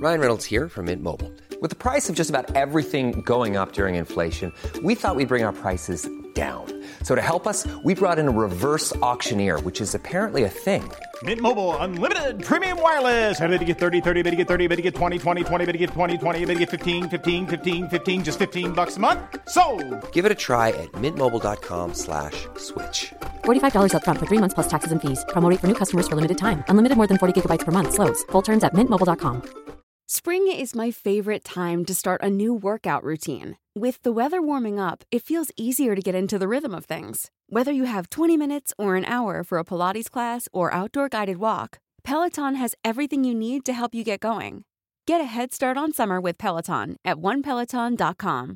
Ryan Reynolds here from Mint Mobile. With the price of just about everything going up during inflation, we thought we'd bring our prices down. So to help us, we brought in a reverse auctioneer, which is apparently a thing. Mint Mobile Unlimited Premium Wireless. How to get 30, 30, bit to get 30, bit to get 20, 20, 20, bit to get 20, 20, bit to get 15, 15, 15, 15, just $15 a month? Sold! Give it a try at mintmobile.com/switch. $45 up front for 3 months plus taxes and fees. Promo rate for new customers for limited time. Unlimited more than 40 gigabytes per month. Slows full terms at mintmobile.com. Spring is my favorite time to start a new workout routine. With the weather warming up, it feels easier to get into the rhythm of things. Whether you have 20 minutes or an hour for a Pilates class or outdoor guided walk, Peloton has everything you need to help you get going. Get a head start on summer with Peloton at onepeloton.com.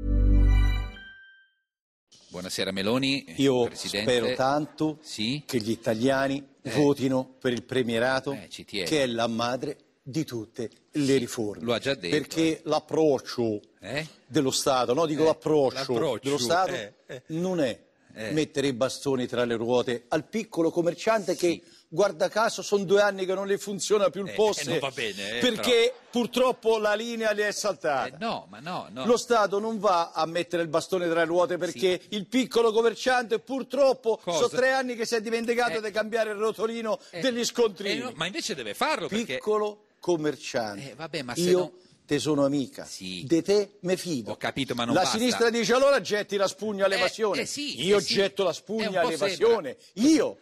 Buonasera Meloni. Io Presidente. spero tanto che gli italiani votino per il premierato, che è la madre di tutte le riforme. Lo ha già detto. Perché l'approccio dello Stato, no, dico l'approccio dello Stato non è mettere i bastoni tra le ruote al piccolo commerciante che, guarda caso, sono 2 anni che non le funziona più il POS, non va bene, perché purtroppo la linea le è saltata. No. Lo Stato non va a mettere il bastone tra le ruote perché il piccolo commerciante purtroppo sono 3 anni che si è dimenticato di cambiare il rotolino degli scontrini. Ma invece deve farlo perché... Piccolo commerciante. Vabbè, ma se io te sono amica, di te me fido. Ho capito, ma non la basta. Sinistra dice allora getti la spugna all'evasione. Io getto la spugna all'evasione. Io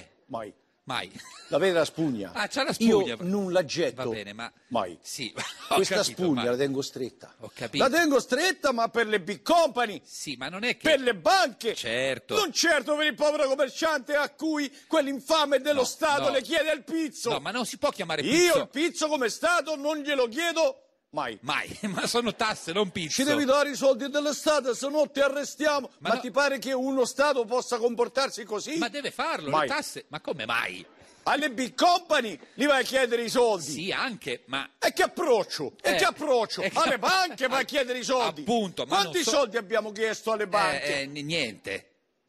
mai. La vede la spugna? C'ha la spugna. Io non la getto. Va bene, ma... Mai. Sì, questa spugna la tengo stretta. Ho capito. La tengo stretta, ma per le big company. Sì, ma non è che... Per le banche. Certo. Non certo per il povero commerciante a cui quell'infame dello Stato le chiede il pizzo. No, ma non si può chiamare pizzo. Io il pizzo come Stato non glielo chiedo mai. Ma sono tasse, non pizzo. Ci devi dare i soldi dello Stato, se no ti arrestiamo. Ma ti pare che uno Stato possa comportarsi così? Ma deve farlo, mai. Le tasse. Ma come mai? Alle big company gli vai a chiedere i soldi. Sì, anche, ma... E che approccio? Alle banche vai a chiedere i soldi. Appunto, ma quanti soldi abbiamo chiesto alle banche? Niente,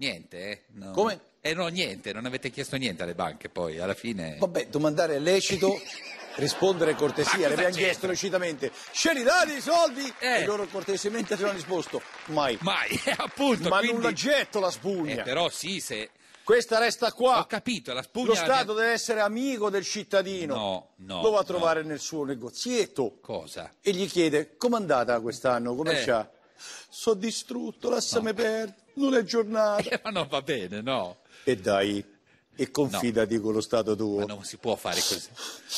no. Come? No, niente, non avete chiesto niente alle banche poi, alla fine... Vabbè, domandare è lecito, rispondere è cortesia, le abbiamo chiesto lecitamente. Ce li date i soldi? E loro cortesemente ci hanno risposto, mai. Mai, appunto. Ma quindi... non la getto la spugna. Però sì, se... Questa resta qua. Ho capito, la spugna... Lo Stato deve essere amico del cittadino. No. Lo va a trovare nel suo negozietto. Cosa? E gli chiede, com'è andata quest'anno? Come c'ha? Sono distrutto, lasciami perdere, non è giornata. Ma non va bene, no. E dai, e confidati con lo Stato tuo. Ma non si può fare così.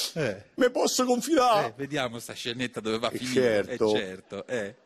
Me posso confidare? Vediamo sta scenetta dove va a finire. Certo.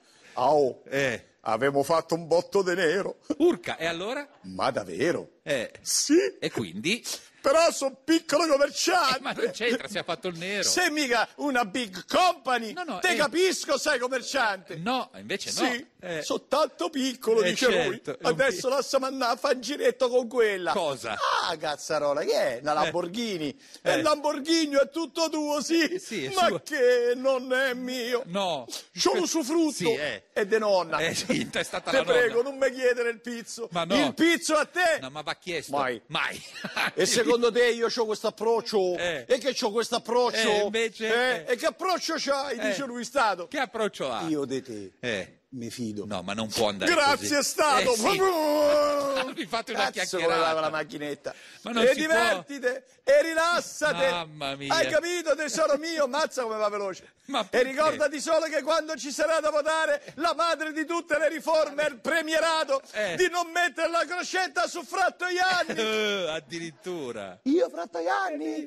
Avevo fatto un botto di nero. Urca, e allora? Ma davvero? Sì. E quindi? Però sono piccolo commerciante. Ma non c'entra, si è fatto il nero. Sei mica una big company. Te capisco, sei commerciante. No, invece no. Sì, sono tanto piccolo, dice lui. Adesso lasciami andare a fare un giretto con quella. Cosa? Cazzarola, che è? Una Lamborghini. E il Lamborghini è tutto tuo, sì. Ma suo. che non è mio. No. C'ho l'usufrutto. È de nonna. Sì, è stata Te la nonna. prego, non mi chiedere il pizzo. Ma no. Il pizzo a te. No, ma va chiesto. Mai. E secondo te io c'ho questo approccio? E che c'ho questo approccio? Invece... E che approccio c'hai, dice lui Stato? Che approccio ha? Io di te. Mi fido. No, ma non può andare Grazie così. Stato. Vi fate una chiacchierata. Come lava la macchinetta. Ma non e si divertite e rilassate. Mamma mia. Hai capito, tesoro mio? Mazza come va veloce. E ricordati solo che quando ci sarà da votare la madre di tutte le riforme è il premierato, di non mettere la crocetta su Frattoianni. Addirittura. Io Frattoianni?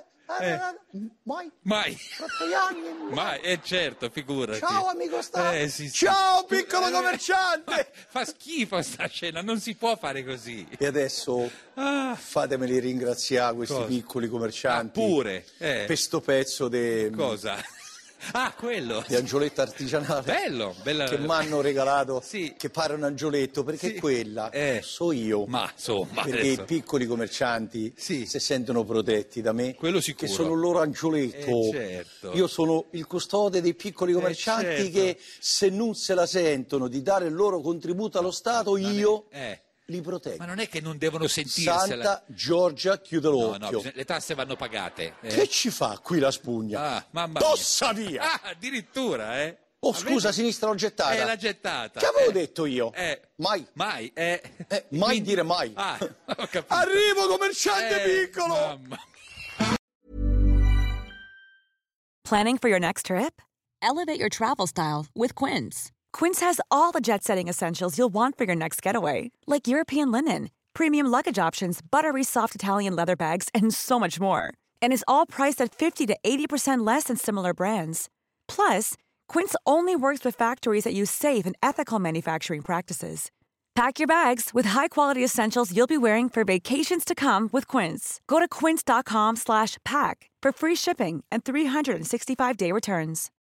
Mai. Frattoianni? Mai, certo, figurati. Ciao amico Stato. Sì. Ciao piccolo commerciante. Fa schifo sta scena, non si può fare così. E adesso fatemeli ringraziare questi piccoli commercianti. Pure. Per sto pezzo di... Cosa? Quello. Di angioletto artigianale. Bello. Che mi hanno regalato. Che pare un angioletto, perché quella so io. Ma insomma. Perché adesso... i piccoli commercianti si sentono protetti da me. Quello sicuro. Che sono il loro angioletto. Certo. Io sono il custode dei piccoli commercianti che se non se la sentono di dare il loro contributo allo Stato, io li proteggo. Ma non è che non devono sentirsela. Santa Giorgia, chiude l'occhio. No, le tasse vanno pagate. Che ci fa qui la spugna? Ah, mamma Tossa via! Ah, addirittura, Oh, scusa, sinistra l'ho gettata. l'ha gettata. Che avevo detto io? Mai. Mai Quindi... dire mai. Ah, ho capito. Arrivo, commerciante piccolo! Mamma. Planning for your next trip? Elevate your travel style with Quince. Quince has all the jet-setting essentials you'll want for your next getaway, like European linen, premium luggage options, buttery soft Italian leather bags, and so much more. And is all priced at 50 to 80% less than similar brands. Plus, Quince only works with factories that use safe and ethical manufacturing practices. Pack your bags with high-quality essentials you'll be wearing for vacations to come with Quince. Go to quince.com/pack for free shipping and 365-day returns.